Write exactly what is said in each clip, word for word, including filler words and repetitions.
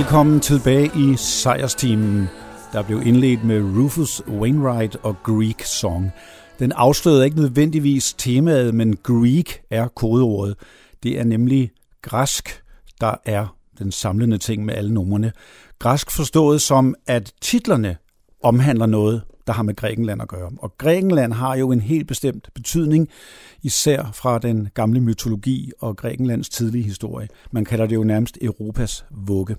Velkommen tilbage i sejrsteamen, der blev indledt med Rufus Wainwright og Greek Song. Den afslørede ikke nødvendigvis temaet, men Greek er kodeordet. Det er nemlig græsk, der er den samlende ting med alle numrene. Græsk forstået som, at titlerne omhandler noget, der har med Grækenland at gøre. Og Grækenland har jo en helt bestemt betydning, især fra den gamle mytologi og Grækenlands tidlige historie. Man kalder det jo nærmest Europas vugge.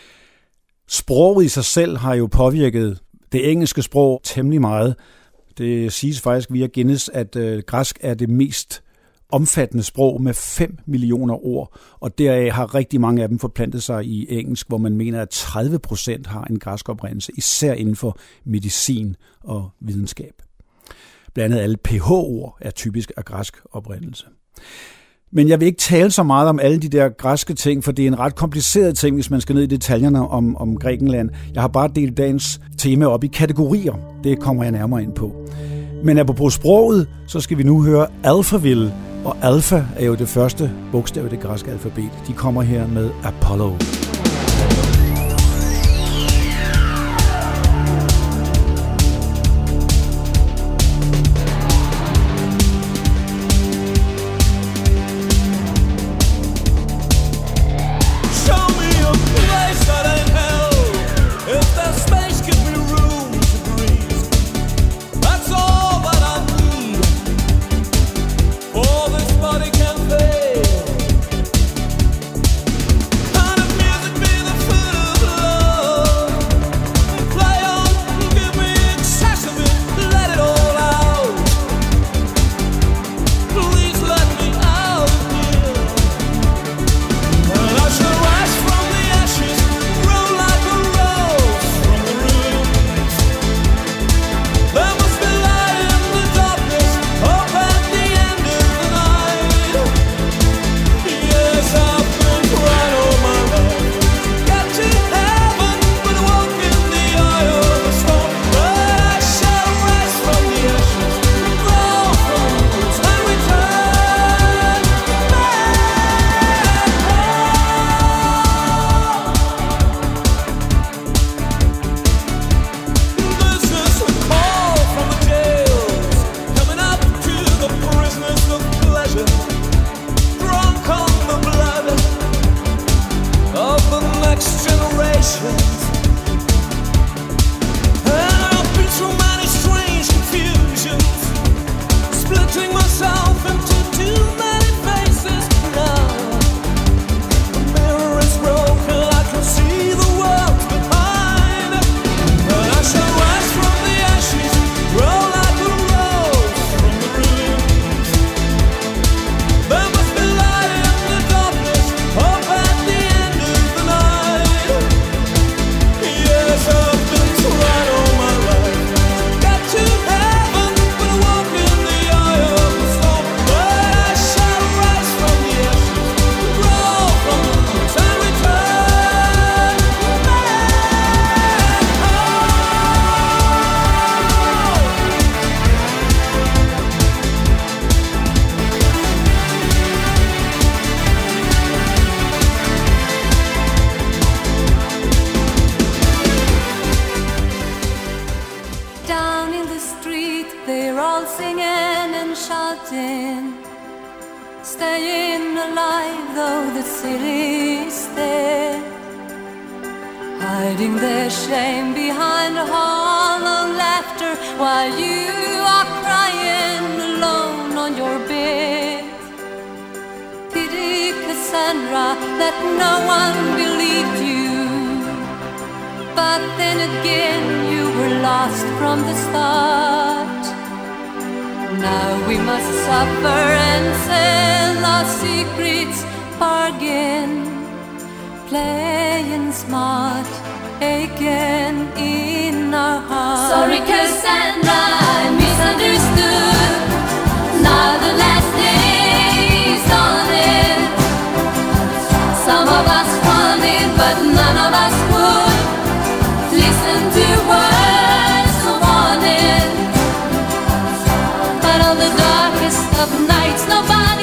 Sproget i sig selv har jo påvirket det engelske sprog temmelig meget. Det siges faktisk via Guinness, at øh, græsk er det mest omfattende sprog med fem millioner ord, og deraf har rigtig mange af dem forplantet sig i engelsk, hvor man mener, at tredive procent har en græsk oprindelse, især inden for medicin og videnskab. Blandt andet alle ph-ord er typisk af græsk oprindelse. Men jeg vil ikke tale så meget om alle de der græske ting, for det er en ret kompliceret ting, hvis man skal ned i detaljerne om, om Grækenland. Jeg har bare delt dagens tema op i kategorier. Det kommer jeg nærmere ind på. Men apropos sproget, så skal vi nu høre Alphaville, og alfa er jo det første bogstav i det græske alfabet. De kommer her med Apollo.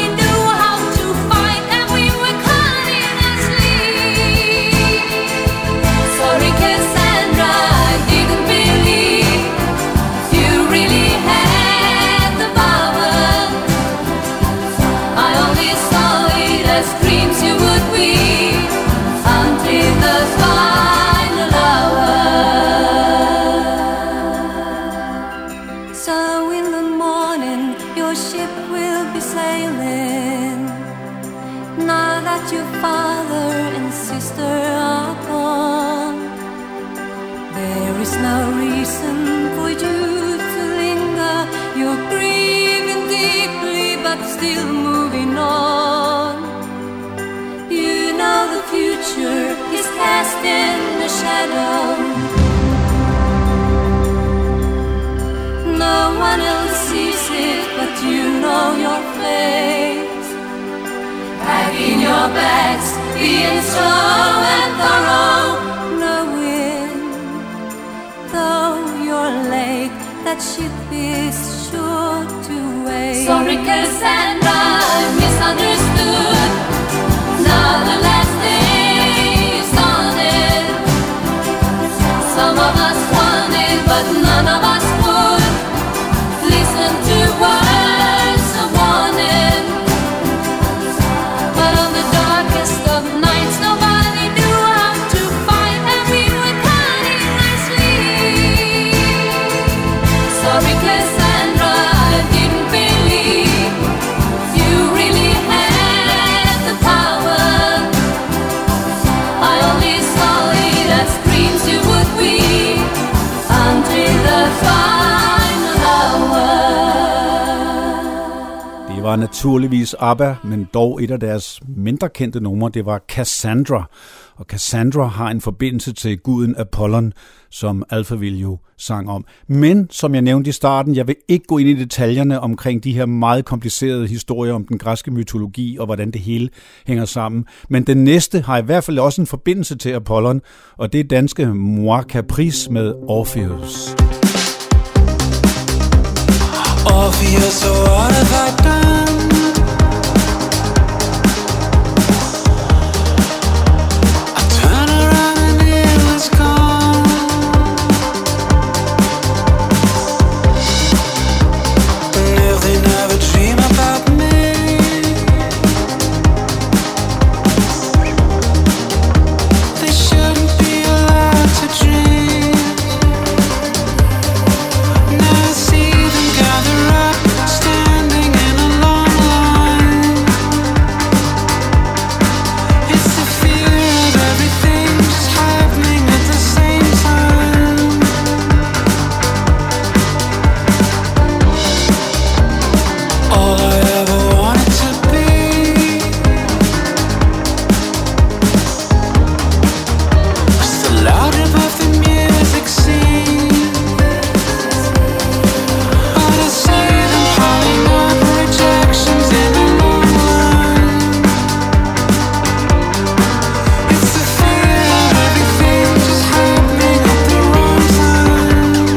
Nobody knew how to fight, and we were caught in a sleep. no reason for you to linger. You're grieving deeply but still moving on. You know the future is cast in the shadow. No one else sees it but you know your fate. Packing your bags, being slow and thorough, knowing though you're late, that ship is sure to wait. Sorry Cassandra, I misunderstood. Now the last day is on it. Some of us want it, but none of us would listen to words of warning. But on the darkest of nights, nobody knew how to fight, and we were counting our sleep. Sorry Cassandra, I didn't believe you really had the power. I only saw it as dreams you would weave until the final hour. Det var naturligvis ABBA, men dog et af deres mindre kendte numre, det var Cassandra. Og Cassandra har en forbindelse til guden Apollon, som Alphaville jo sang om. Men, som jeg nævnte i starten, jeg vil ikke gå ind i detaljerne omkring de her meget komplicerede historier om den græske mytologi og hvordan det hele hænger sammen. Men den næste har i hvert fald også en forbindelse til Apollon, og det er danske Moi Caprice med Orpheus. Orpheus, what have I done? I turn around and it was gone. And if they never dream about me, they shouldn't be allowed to dream. Now I see them gather up, standing in a long line. It's the fear of everything just happening at the same time. All I ever wanted to be was the loud above the music scene. But I see them piling up rejections in a long line. It's the fear of everything just happening at the wrong time.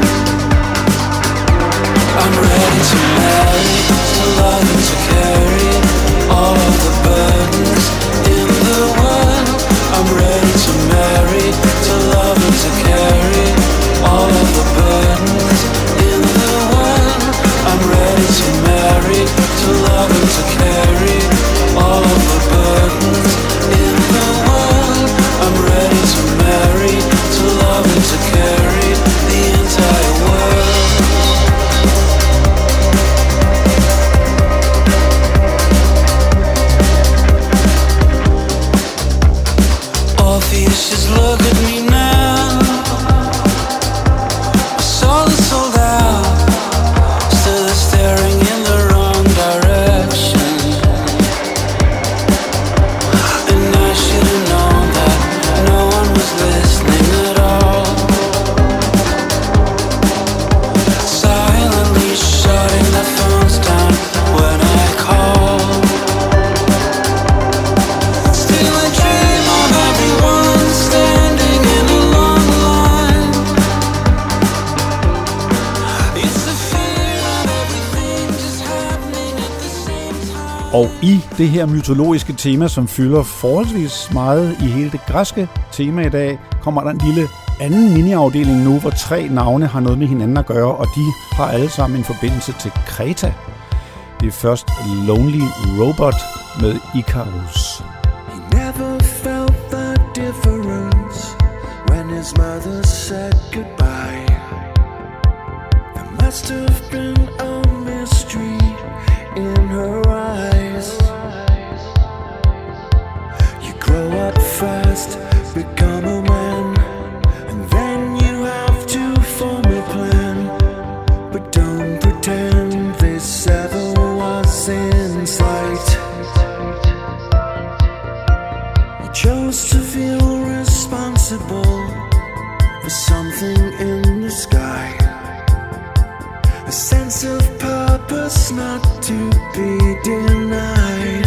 I'm ready to marry, to love and to carry all of the burdens in the world. I'm ready to marry, to love and to carry all of the burdens in the world. I'm ready to marry, to love and to carry all of the burdens in the world. I'm ready to marry, to love and to carry the entire world. Orpheus, just look at me now. My soul is sold out, still staring in the wrong direction. And I should have known that no one was listening at all. Silently shutting their phones down when I call. Still I dream of everyone standing in a long line. It's the fear of everything just happening at the same time. Og i det her mytologiske tema, som fylder forholdsvis meget i hele det græske tema i dag, kommer der en lille anden miniafdeling nu, hvor tre navne har noget med hinanden at gøre, og de har alle sammen en forbindelse til Kreta. Det er først Lonely Robot med Icarus. He never felt the difference when his mother said goodbye. There must have been a mystery in her eyes. You grow up fast, become a man, and then you have to a sense of purpose not to be denied.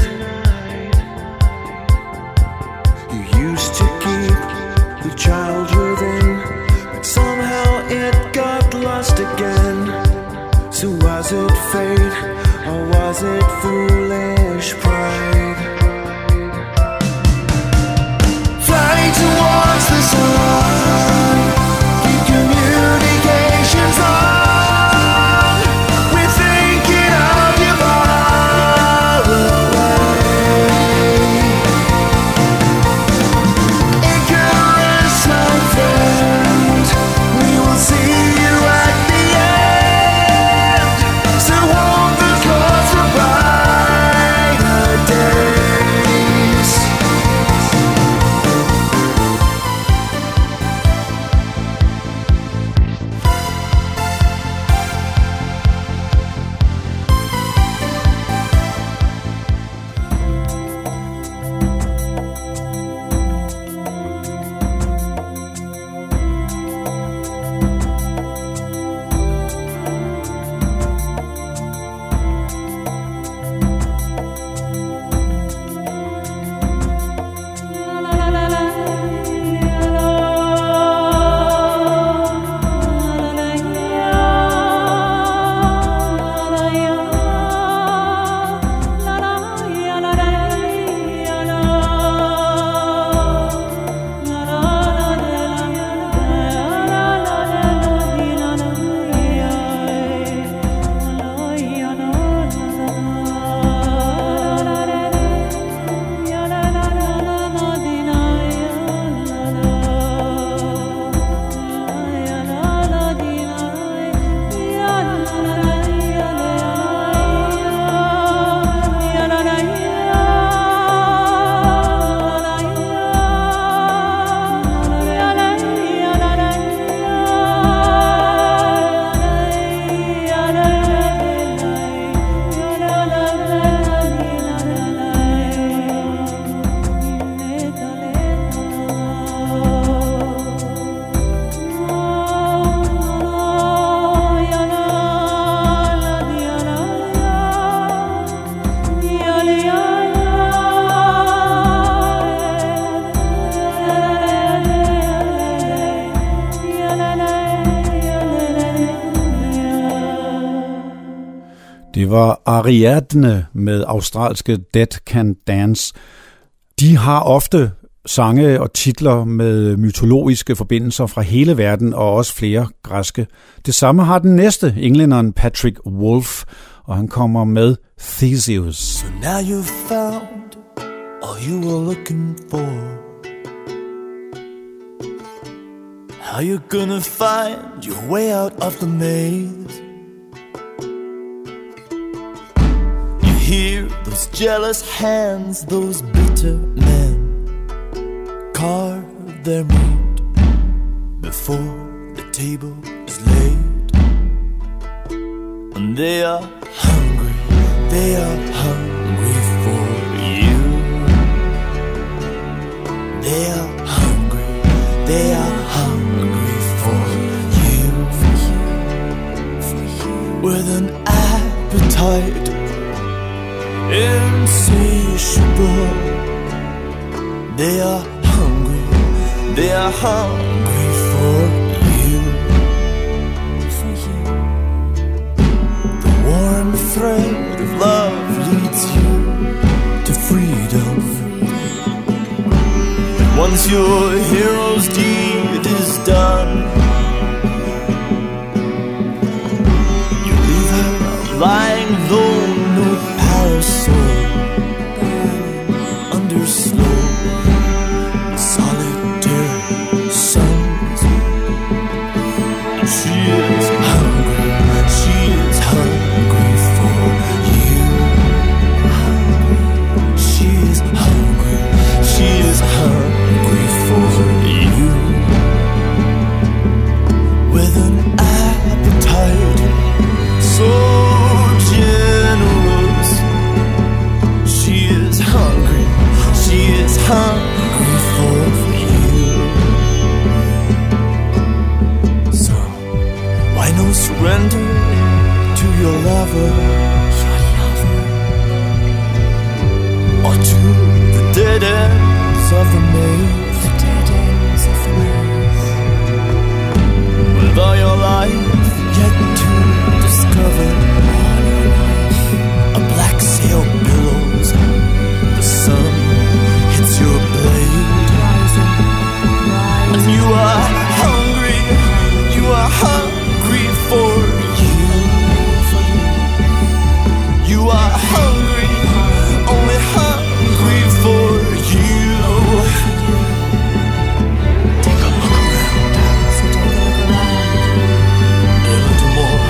You used to keep the child within, but somehow it got lost again. So was it fate, or was it foolish pride? Fly towards the sun, keep communications on. We're thinking of you far away. Icarus, my friend, we will see you at the end. So hold the close for brighter days. Det var Ariadne med australske Dead Can Dance. De har ofte sange og titler med mytologiske forbindelser fra hele verden og også flere græske. Det samme har den næste, englænderen Patrick Wolf, og han kommer med Theseus. So now you've found all you were looking for. How you gonna find your way out of the maze? You hear those jealous hands, those bitter men carve their meat before the table is laid. And they are hungry, they are hungry for you. They are hungry, they are hungry for you. With an appetite insatiable, they are hungry, they are hungry for you. The warm thread of love leads you to freedom. But once your hero's deed is done, you leave her lying lone, no parasol, under slow solitary suns. And she is hungry, she is hungry for you. She is hungry, she is hungry for you. With an appetite so your lover, your lover, or to the dead ends of the maze, the dead ends of the maze, with all your life yet to discover, all your life. A black sail billows, the sun hits your blade, rising, rising. And you are hungry, you are hungry for you. You are hungry, only hungry for you. Take a look around, so take a look around. A little more.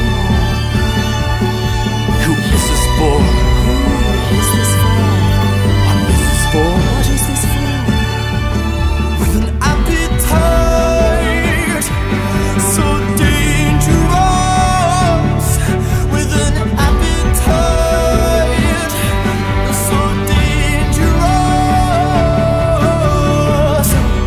Who is this for? Who is this for? What is this for? What is this for? With an appetite so dangerous, with an appetite so dangerous.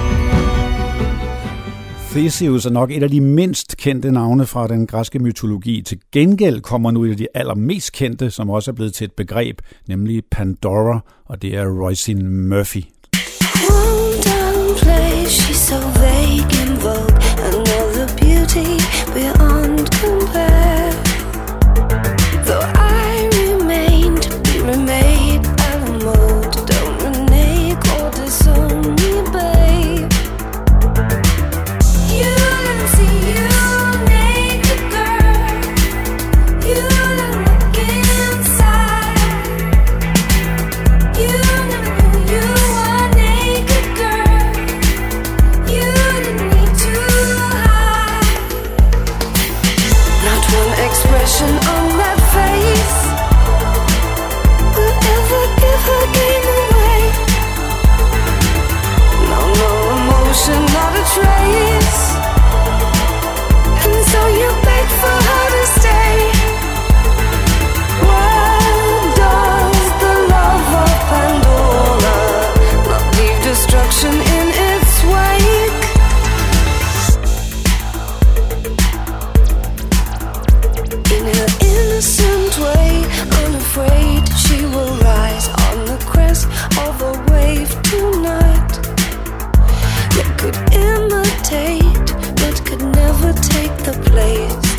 Theseus er nok et af de mindst kendte navne fra den græske mytologi. Til gengæld kommer nu et af de allermest kendte, som også er blevet til et begreb, nemlig Pandora, og det er Roisin Murphy. Calm down, place, she's so vague in vogue. Another beauty beyond compare. Though I remain to be remade out of mode. Don't renege or disown me, babe. You let me see you naked, girl. You let me look inside. You never knew you were naked, girl. You didn't need to hide. Not one expression on that face will ever give her game away. No, no emotion, not a trace. And so you beg for her to stay. Why does the love of Pandora not leave destruction in its wake? In her innocent way, unafraid, she will rise on the crest of a wave tonight. That could imitate, but could never take the place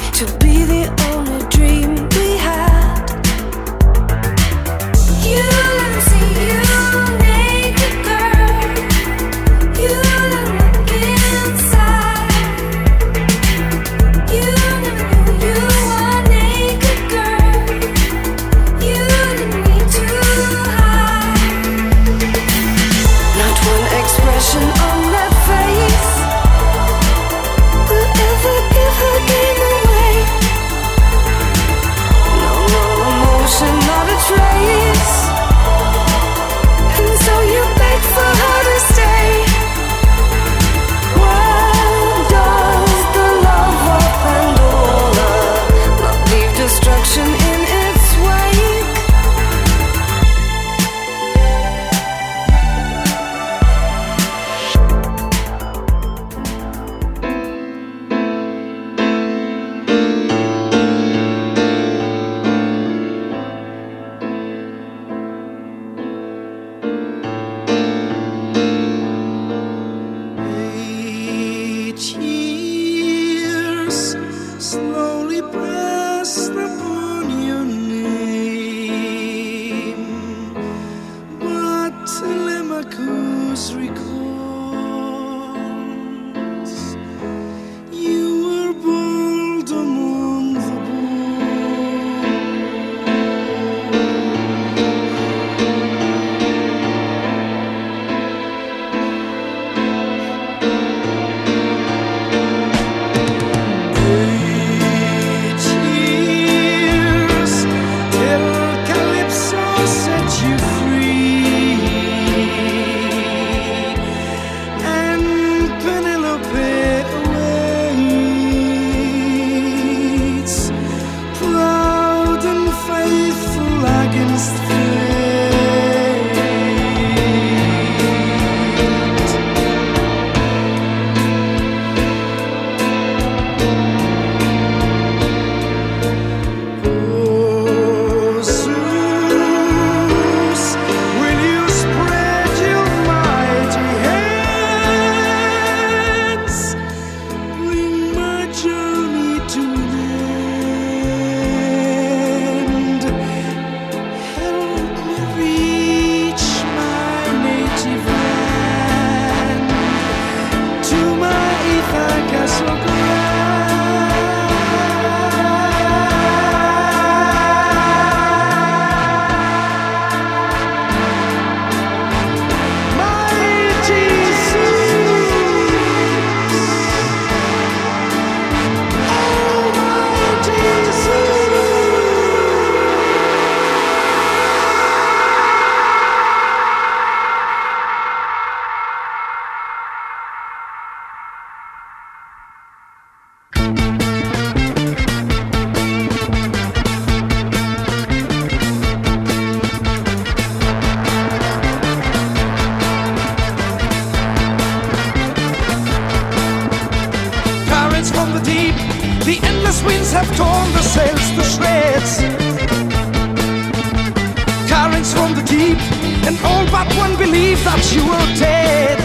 but one believed that you were dead.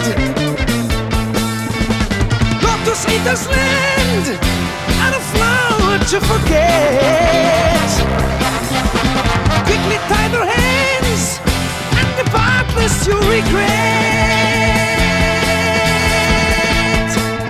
Go to Satan's land and a flower to forget. Quickly tie their hands and depart lest you regret.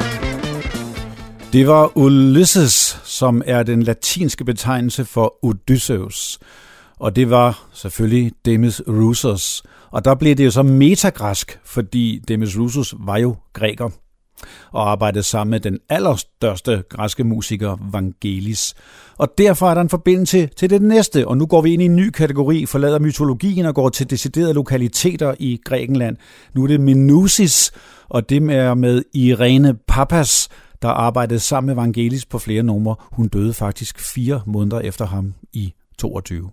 Det var Ulysses, som er den latinske betegnelse for Odysseus. Og det var selvfølgelig Demis Roussos. Og der blev det jo så metagræsk, fordi Demis Roussos var jo græker og arbejdede sammen med den allerstørste græske musiker Vangelis. Og derfor er der en forbindelse til det næste, og nu går vi ind i en ny kategori, forlader mytologien og går til deciderede lokaliteter i Grækenland. Nu er det Minousis, og det er med Irene Papas, der arbejdede sammen med Vangelis på flere numre. Hun døde faktisk fire måneder efter ham i toogtyve.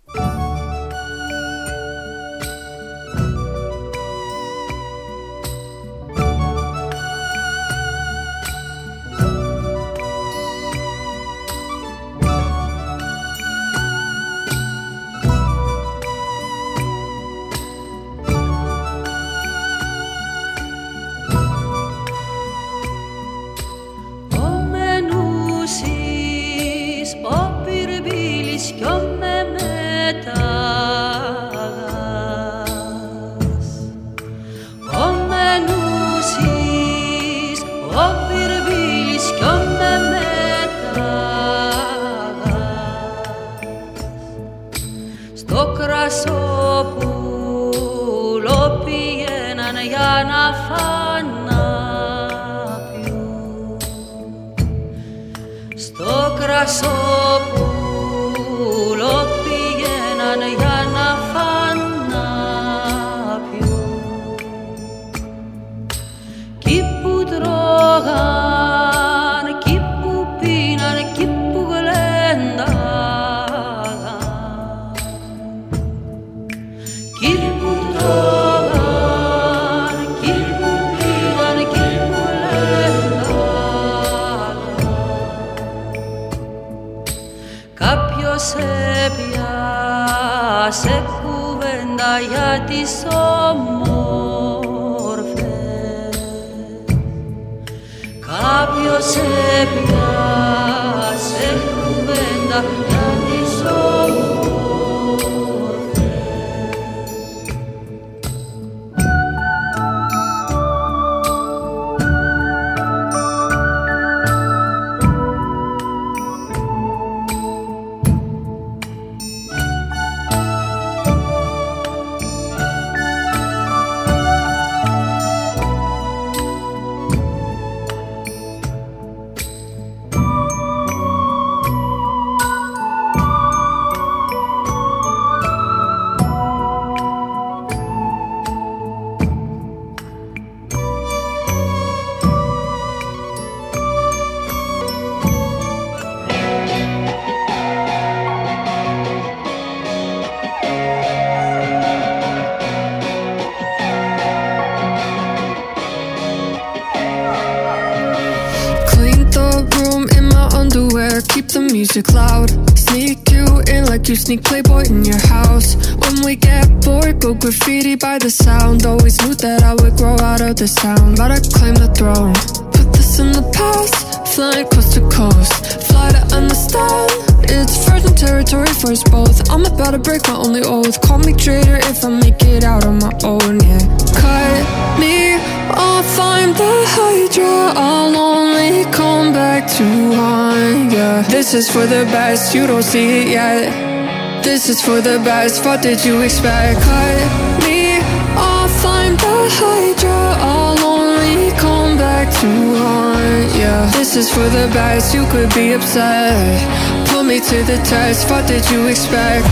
Music loud, sneak you in like you sneak Playboy in your house. When we get bored, go graffiti by the sound. Always knew that I would grow out of the sound, but I claim the throne. Put this in the past, flying coast to coast. Fly to understand, it's virgin territory for us both. I'm about to break my only oath. Call me traitor if I make it out on my own, yeah. Cut me off, I'm the Hydra. I'll only come back to one, yeah. This is for the best, you don't see it yet. This is for the best, what did you expect? Cut me off, I'm the Hydra. I'll only come back to one, yeah. This is for the best, you could be upset. Put me to the test, what did you expect?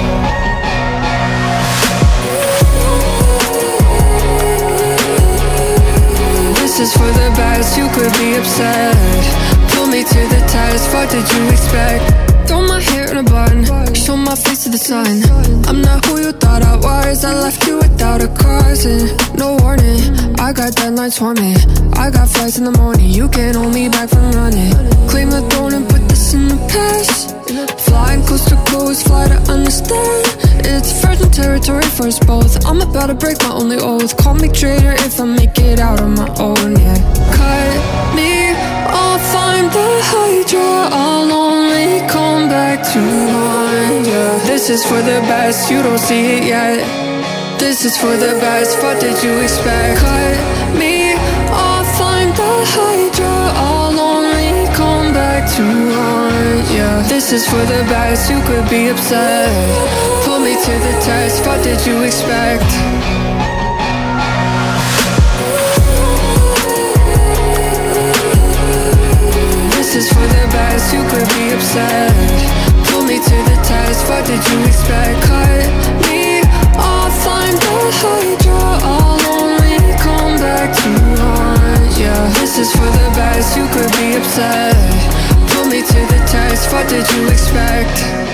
This is for the best, you could be upset. Put me to the test, what did you expect? Throw my hair in a bun, show my face to the sun. I'm not who you thought I was, I left you without a cause and no warning. I got deadlines for me, I got flights in the morning. You can't hold me back from running. Claim the throne and put this in the past. Flying coast to coast, fly to understand. It's virgin territory for us both. I'm about to break my only oath. Call me traitor if I make it out on my own, yeah. Cut me off, I'm the Hydra. I'll only come back to mine, yeah. This is for the best, you don't see it yet. This is for the best, what did you expect? Cut me off, I'm the Hydra. I'll only come back to mine, yeah. This is for the best, you could be upset. Put me to the test, what did you expect? This is for the best, you could be upset. Put me to the test, what did you expect? Cut me off, I'm the Hydra. I'll only come back to haunt, yeah. This is for the best, you could be upset. Put me to the test, what did you expect?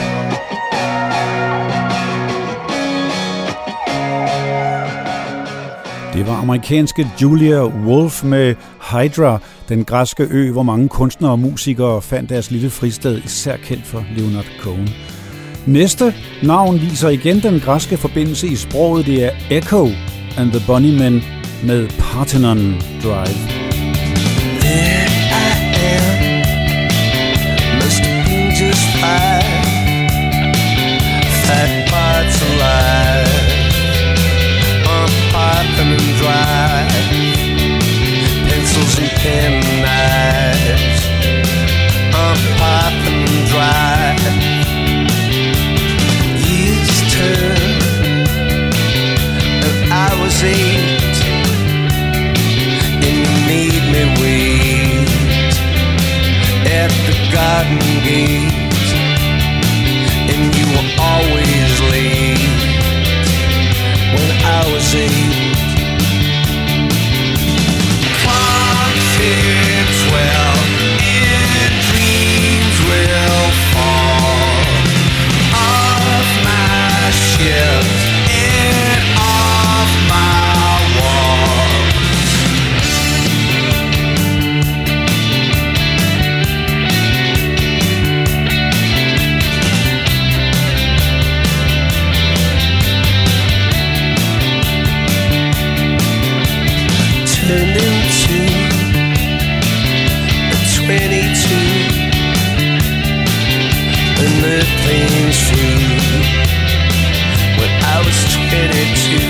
Det var amerikanske Julia Wolf med Hydra, den græske ø, hvor mange kunstnere og musikere fandt deres lille fristed, især kendt for Leonard Cohen. Næste navn viser igen den græske forbindelse i sproget. Det er Echo and the Bunnymen med Parthenon Drive. There I am, must have been just five, five parts alive, on Parthenon Drive, pencils and pen knives, on Parthenon Drive. Years turn, and I was eight, and you made me wait at the garden gate, and you were always late when I was eight. Clock fits well, and dreams will fall off my shelves and off my walls. Turned into a twenty-two, and the planes flew when I was twenty-two,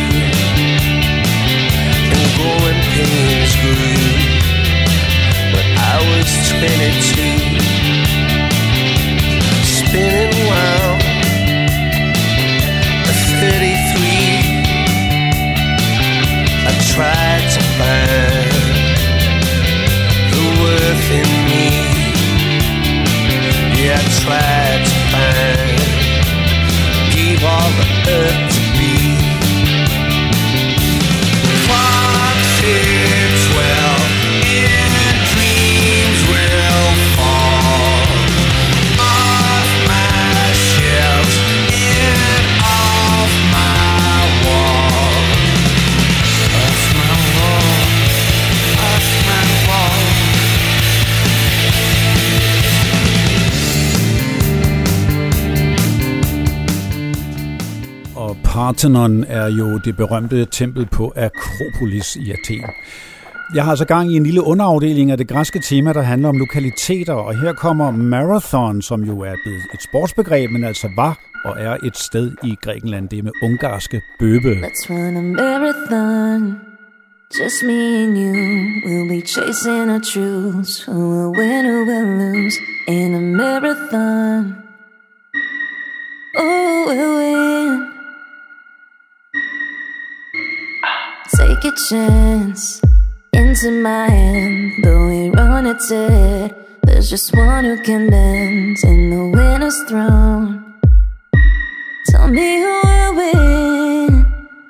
and growing pains grew when I was twenty-two. Spinning round a thirty-three, I tried to find the worth in me. Yeah, I tried to find, gave all the earth to be. Clock fits well, and dreams will fall off my shelves and off my wall. Off my wall, off my wall. Og Parthenon er jo det berømte tempel på Akropolis i Athen. Jeg har så gang i en lille underafdeling af det græske tema, der handler om lokaliteter, og her kommer Marathon, som jo er blevet et sportsbegreb, men altså var og er et sted i Grækenland. Det er med ungarske Bøbe. Let's run a marathon, just me and you. We'll be chasing our truths. Who will win, who will lose in a marathon? Oh, we'll win. Take a chance into my hand. Though we run at it, there's just one who can bend in the winner's throne. Tell me who will win.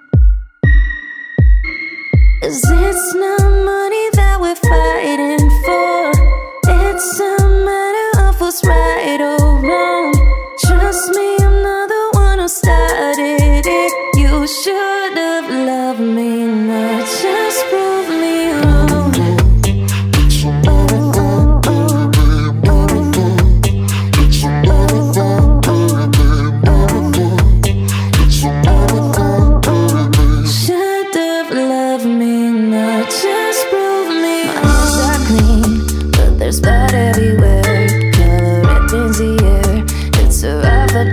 'Cause it's not money that we're fighting for. It's a matter of what's right or wrong. Trust me, I'm not the one who started it. You should have loved me, not just prove me wrong. Oh, oh, oh, oh, oh. Oh, oh, oh, oh, oh.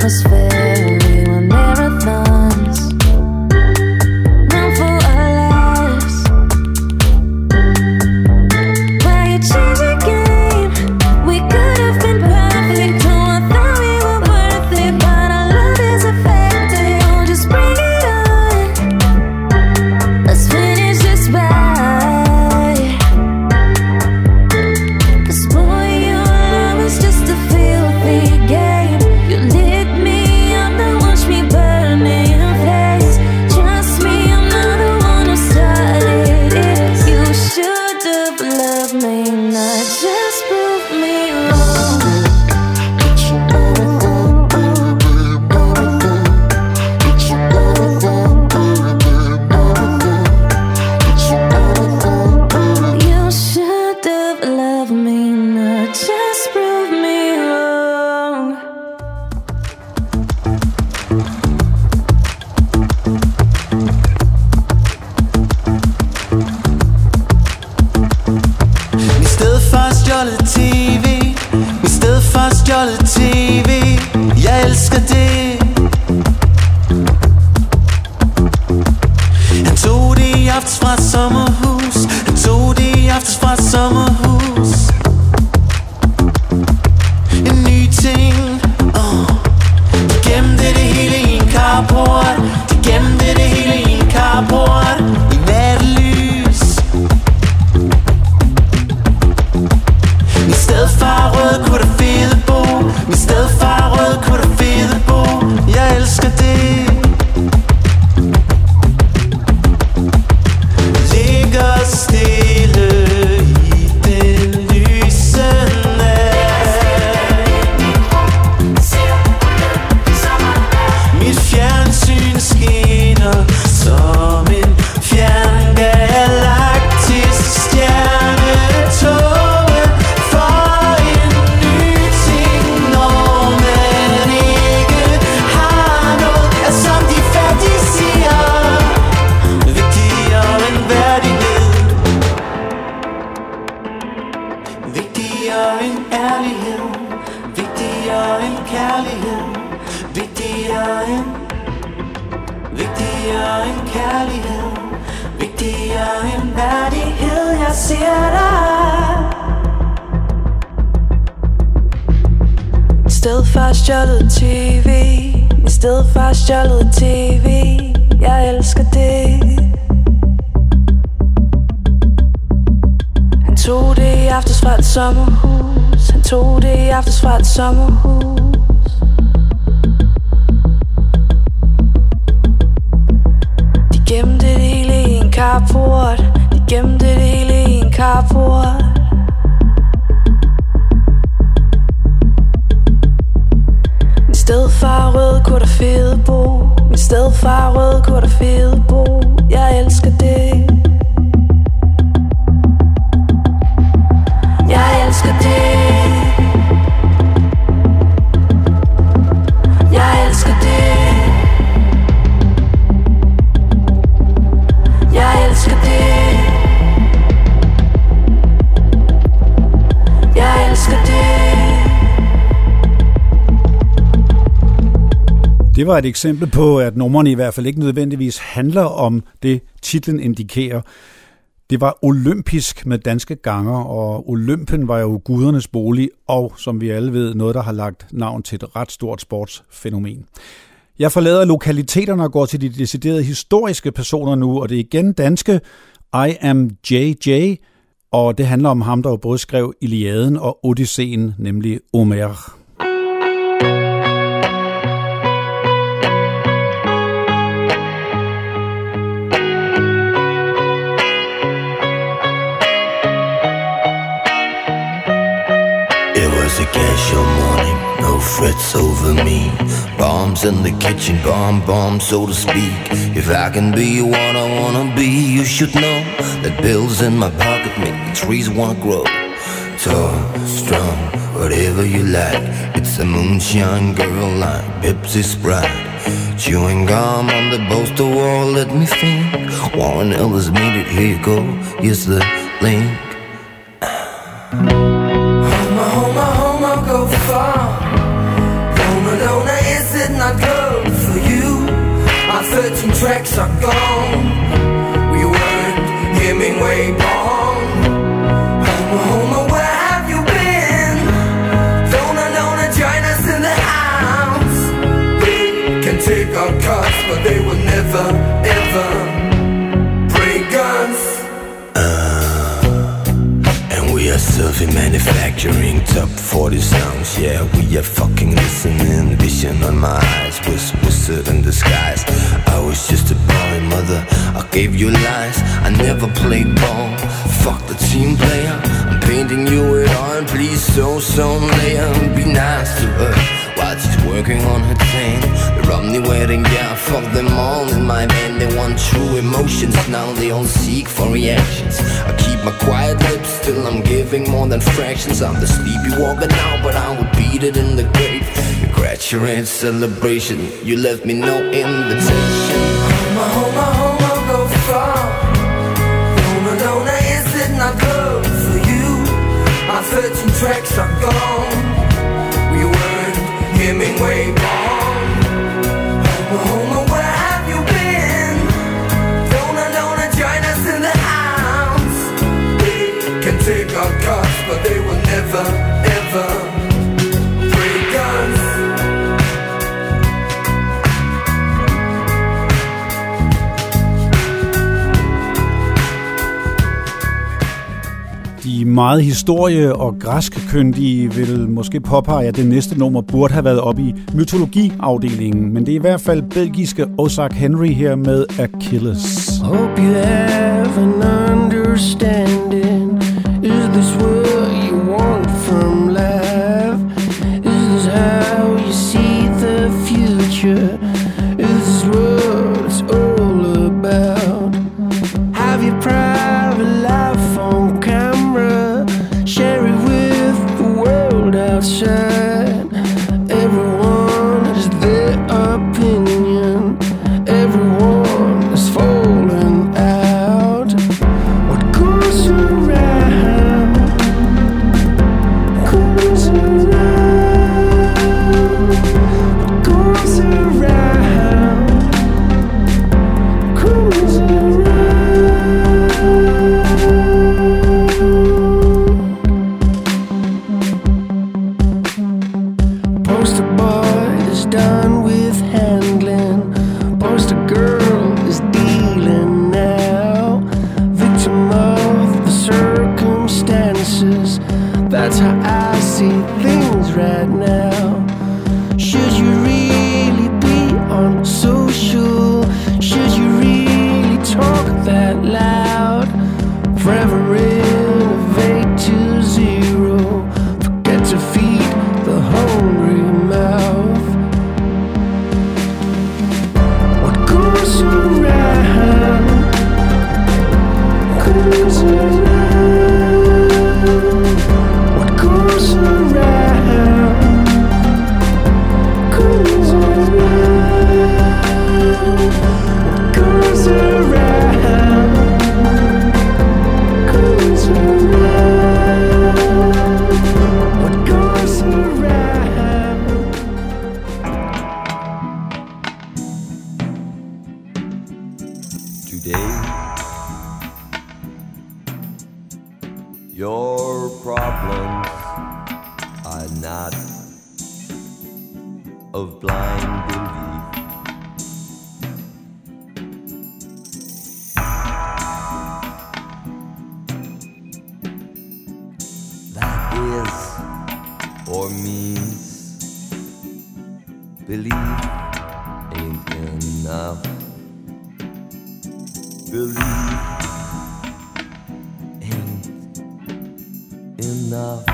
atmosphere. We were marathons, run for our lives. Why you change your game? We could have been perfect. Oh, I thought we were worth it, but our love is affected. Oh, just bring it on. Let's finish this right. 'Cause boy, your love is just a filthy game. You lit me up, then watch me burn in flames. Trust me, I'm not the one who started it. You should have loved me, not just prove me wrong. You should have loved me, not just prove me wrong. I stedet for stjålet T V, i stedet for stjålet T V. Jeg elsker det. Han tog det i aftes fra sommerhus. Han tog det i aftes fra sommerhus. En ny ting. Oh. De gemte det hele i en carport. De gemte det hele i en carport. I nattelys. I stedet for rød kunne der fede bo. I stedet for rød kunne der fede bo. Jeg elsker det. Ligger stille i den lyse nat. Mit fjernsyn skinner som en fjern galaktisk stjernetåge. For en ny ting, når man ikke har noget, er som de fattige siger, vigtigere end værdighed, vigtigere end ærlighed, vigtigere end kærlighed, vigtigere end, vigtigere end kærlighed, vigtigere end værdighed. Jeg siger dig. I stedet for stjålet T V, i stedet for stjålet T V. Jeg elsker det. Han tog det i aftes fra et sommerhus. Han tog det i aftes fra et sommerhus. De gemte det hele i en carport. De gemte det hele i en carport. I stedet for rød kunne der fede bo. I stedet for rød kunne der fede bo. Jeg elsker det. Jeg elsker det. Jeg elsker det. Jeg elsker det. Jeg elsker det. Det var et eksempel på, at numrene i hvert fald ikke nødvendigvis handler om det, titlen indikerer. Det var olympisk med danske ganger, og Olympen var jo gudernes bolig, og som vi alle ved, noget, der har lagt navn til et ret stort sportsfænomen. Jeg forlader lokaliteterne og går til de deciderede historiske personer nu, og det er igen danske I Am J J, og det handler om ham, der jo både skrev Iliaden og Odysseen, nemlig Homer. A casual morning, no frets over me. Bombs in the kitchen, bomb, bomb, so to speak. If I can be what I wanna be, you should know that bills in my pocket make the trees wanna grow. Tall, strong, whatever you like. It's a moonshine girl like Pepsi Sprite. Chewing gum on the poster wall, let me think. Warren Ellis made it, here you go, here's the link. Home, home, home, I'll go far. Home alone, is it? but they will never, ever break us. Uh, and we are self-manufacturing top forty sounds. Yeah, we are fucking listening. Vision on my eyes was wizard in disguise. I was just a boy, mother, I gave you lies. I never played ball, fuck the team player. I'm painting you with oil, please show some layer. Be nice to her while she's working on her tan. The Romney wedding, yeah, fuck them all in my van. They want true emotions, now they all seek for reactions. I keep my quiet lips, still I'm giving more than fractions. I'm the sleepy walker now, but I would beat it in the grave. Your graduate celebration, you left me no invitation. Homa, homa, homa, go far. Lona, Lona, is it not good for you? My thirteen tracks are gone. We weren't Hemingway born. Homa, homa, where have you been? Lona, Lona, join us in the house. They can take our cars, but they will never, ever break us. De meget historie- og græskkyndige vil måske påpege, at det næste nummer burde have været oppe i mytologiafdelingen, men det er i hvert fald belgiske Ozark Henry her med Achilles. Hope you have an understanding. Is this what you want from life? Is this how you see the future? Is this what it's all about? Have you private life on camera? Share it with the world outside. Everyone has their opinion. Everyone is falling out. What goes around goes around. What goes around goes around. Poster boy is done with handling. Poster girl is dealing now. Victim of the circumstances. That's how I see things right now. Should you really be on social? Should you really talk that loud? Forever innovate to zero. Forget to feed the hungry mouth. What goes around goes around. What goes around goes around. What goes around goes around. What goes around. Today, your problems are not of blind belief. That is or means belief ain't enough. Belief ain't enough.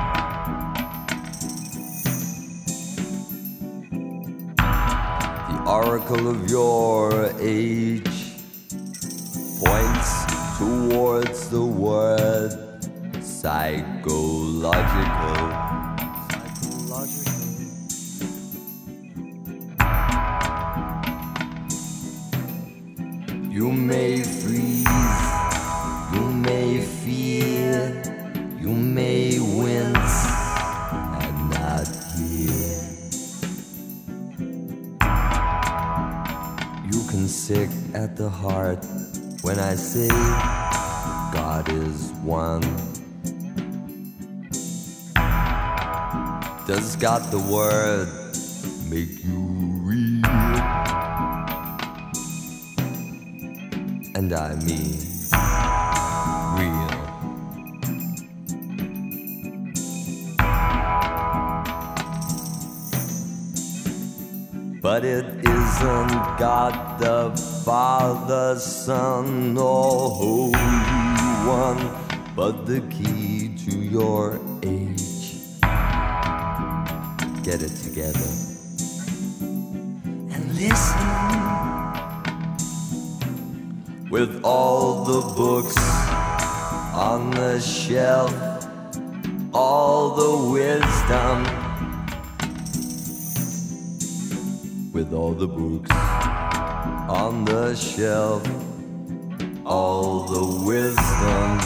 The oracle of your age points towards the word psychological. You may freeze, you may fear, you may wince and not hear. You can sick at the heart when I say God is one. Does God the word make you real? and I mean real. But it isn't God the Father, Son, or Holy One, but the key to your age. Get it together and listen. With all the books on the shelf, all the wisdom. With all the books on the shelf, all the wisdom.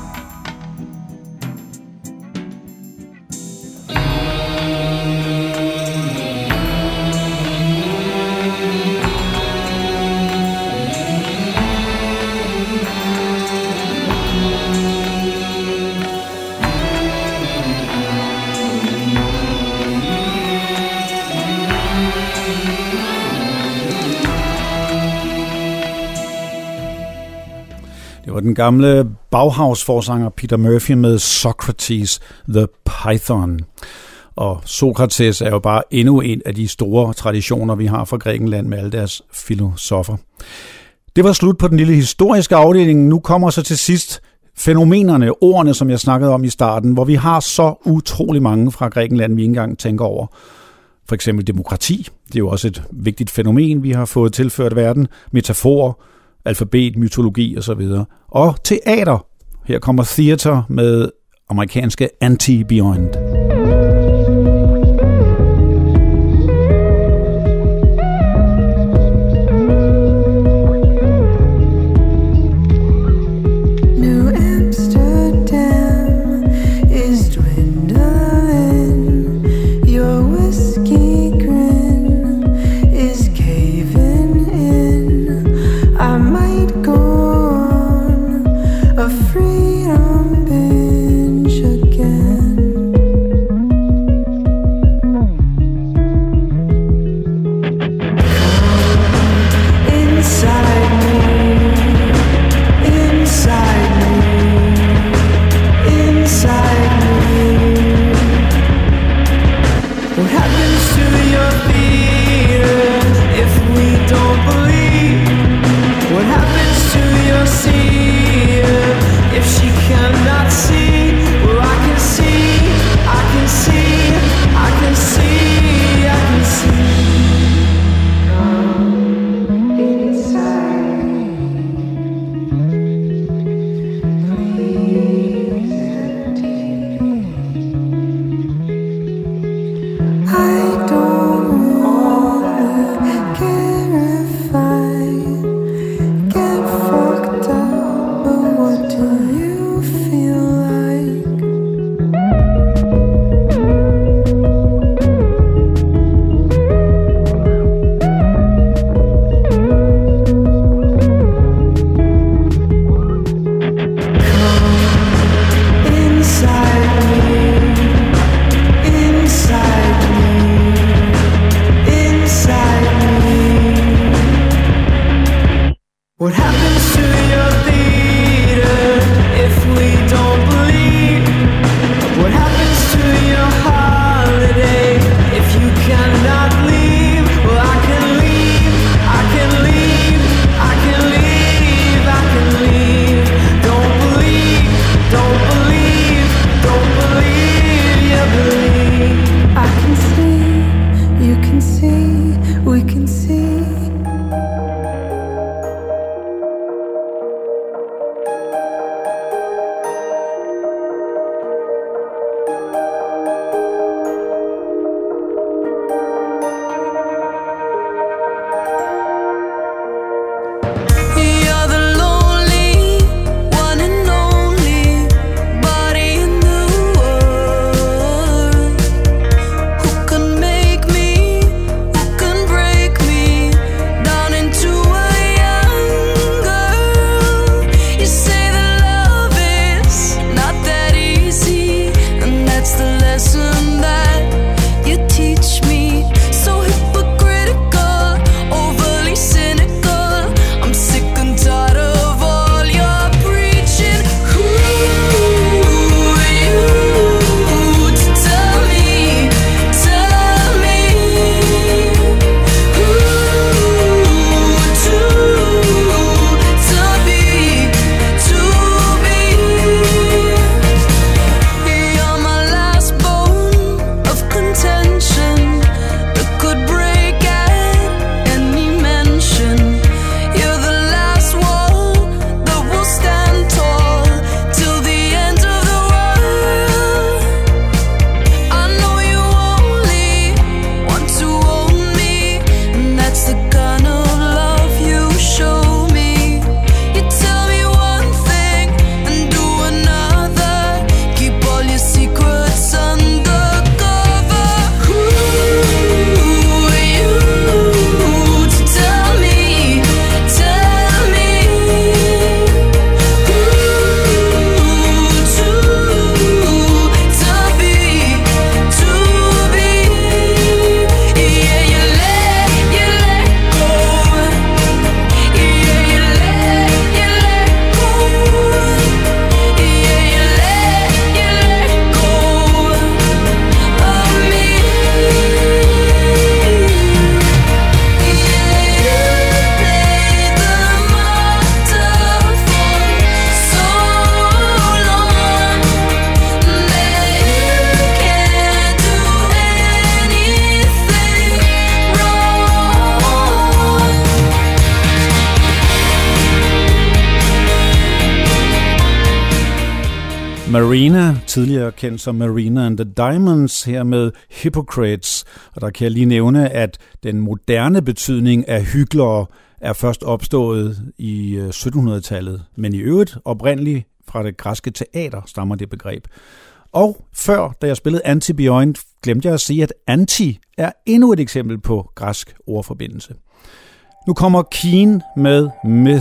Og den gamle Bauhaus-forsanger Peter Murphy med Socrates the Python. Og Sokrates er jo bare endnu en af de store traditioner, vi har fra Grækenland med alle deres filosofer. Det var slut på den lille historiske afdeling. Nu kommer så til sidst fænomenerne, ordene, som jeg snakkede om i starten, hvor vi har så utrolig mange fra Grækenland, vi ikke engang tænker over. For eksempel demokrati. Det er jo også et vigtigt fænomen, vi har fået tilført verden. Metaforer, alfabet, mytologi osv. Og teater. Her kommer Theater med amerikanske Anti-Beyond. I don't Marina, tidligere kendt som Marina and the Diamonds, her med Hypocrites. Og der kan jeg lige nævne, at den moderne betydning af hyklere er først opstået i syttenhundredetallet, men i øvrigt oprindeligt fra det græske teater stammer det begreb. Og før, da jeg spillede Antibioin, glemte jeg at sige, at anti er endnu et eksempel på græsk ordforbindelse. Nu kommer Keane med Myth.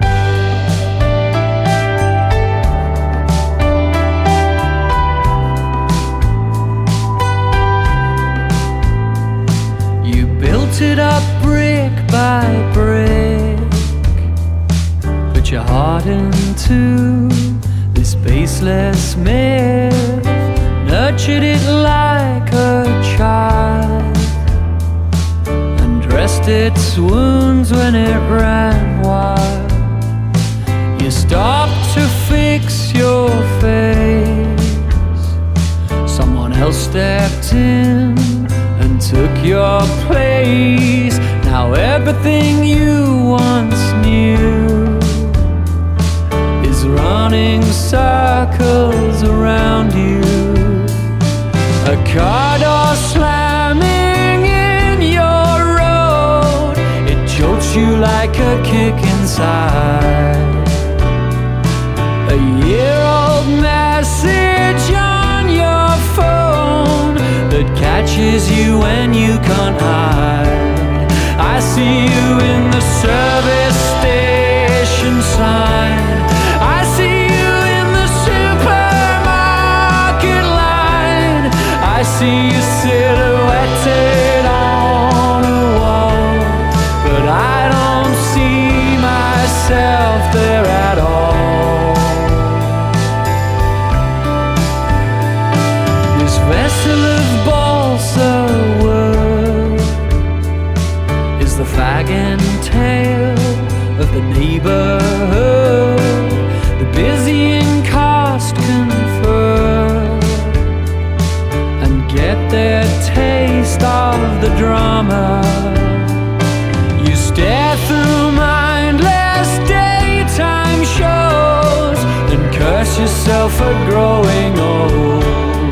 Built it up brick by brick, put your heart into this baseless myth, nurtured it like a child, and dressed its wounds when it ran wild. You stopped to fix your face, someone else stepped in and took your place. Now everything you once knew is running circles around you. A car door slamming in your road, it jolts you like a kick inside. A year-old message on your phone that catches you when you can't hide. I see you in the service station sign. I see you in the supermarket line. I see you silhouetted on a wall, but I don't see myself there at all. This vessel of balsa wood is the fag and tail of the neighborhood, the busy and cost confer and get their taste of the drama. You stare through mindless daytime shows and curse yourself for growing old.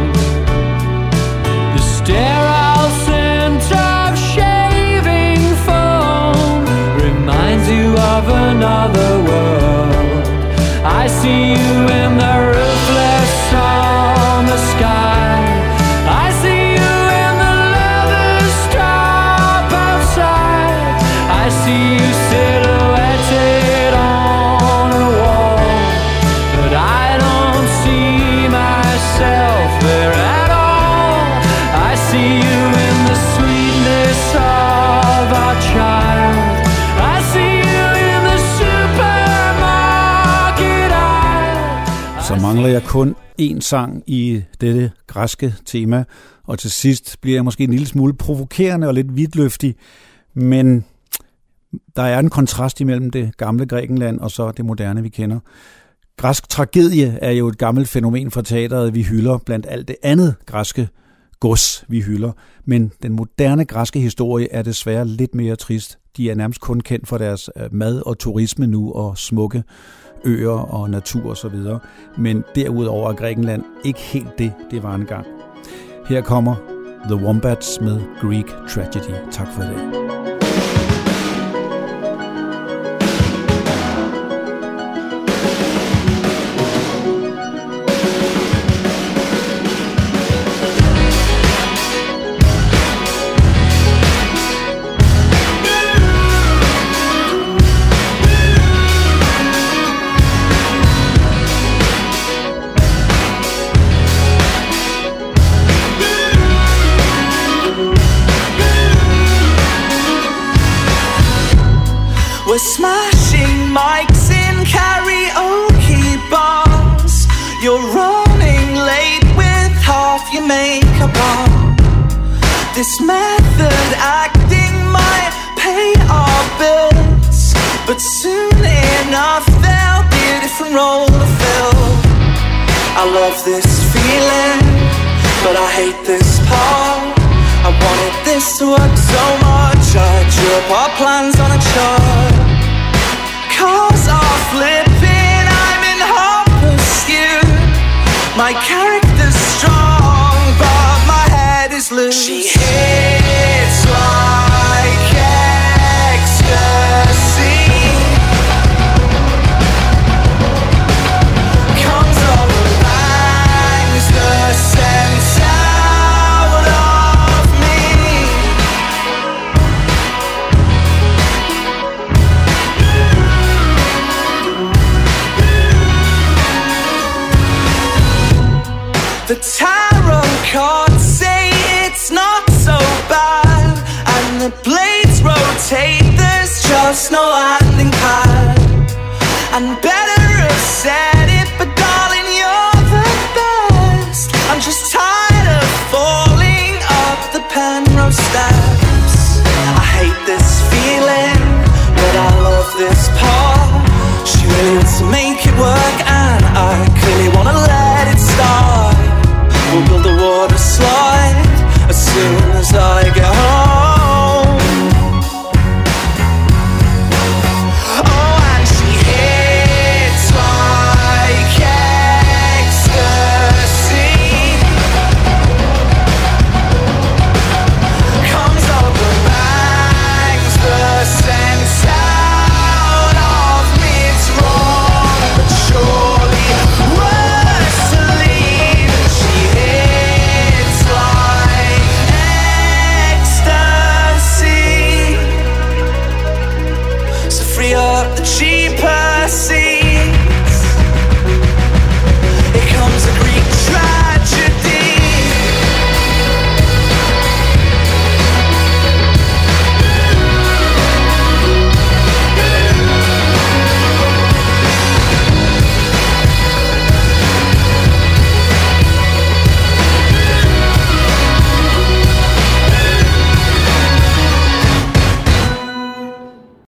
The sterile scent of shaving foam reminds you of another world. I see you in the roofless summer sky. I see you in the leather strap outside. I see you silhouetted on a wall, but I don't see myself there at all. I see you in the sweetness of our child. I see you in the supermarket aisle. Så mangler jeg kun én sang i dette græske tema, og til sidst bliver jeg måske en lille smule provokerende og lidt vidtløftig, men der er en kontrast imellem det gamle Grækenland og så det moderne, vi kender. Græsk tragedie er jo et gammelt fænomen fra teateret, vi hylder blandt alt det andet græske gods, vi hylder. Men den moderne græske historie er desværre lidt mere trist. De er nærmest kun kendt for deres mad og turisme nu og smukke øer og natur osv. Men derudover er Grækenland ikke helt det, det var engang. Her kommer The Wombats med Greek Tragedy. Tak for i dag. We're smashing mics in karaoke bars. You're running late with half your makeup on. This method acting might pay our bills, but soon enough there'll be a different role to fill. I love this feeling, but I hate this part. I wanted this to work so much, I drew up our plans on a chart. Cars are flipping, I'm in hot pursuit. The tarot cards say it's not so bad, and the blades rotate, there's just no landing pad. And better have said it, but darling, you're the best. I'm just tired of falling up the Penrose steps. I hate this feeling, but I love this part. She really wants to make